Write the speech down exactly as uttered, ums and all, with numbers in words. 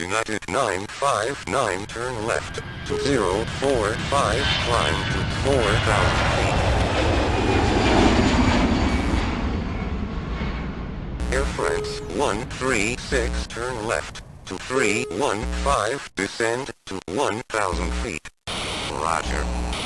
United nine five nine turn left to zero four five, climb to four thousand feet. Air France one three six turn left to three one five, descend to one thousand feet. Roger.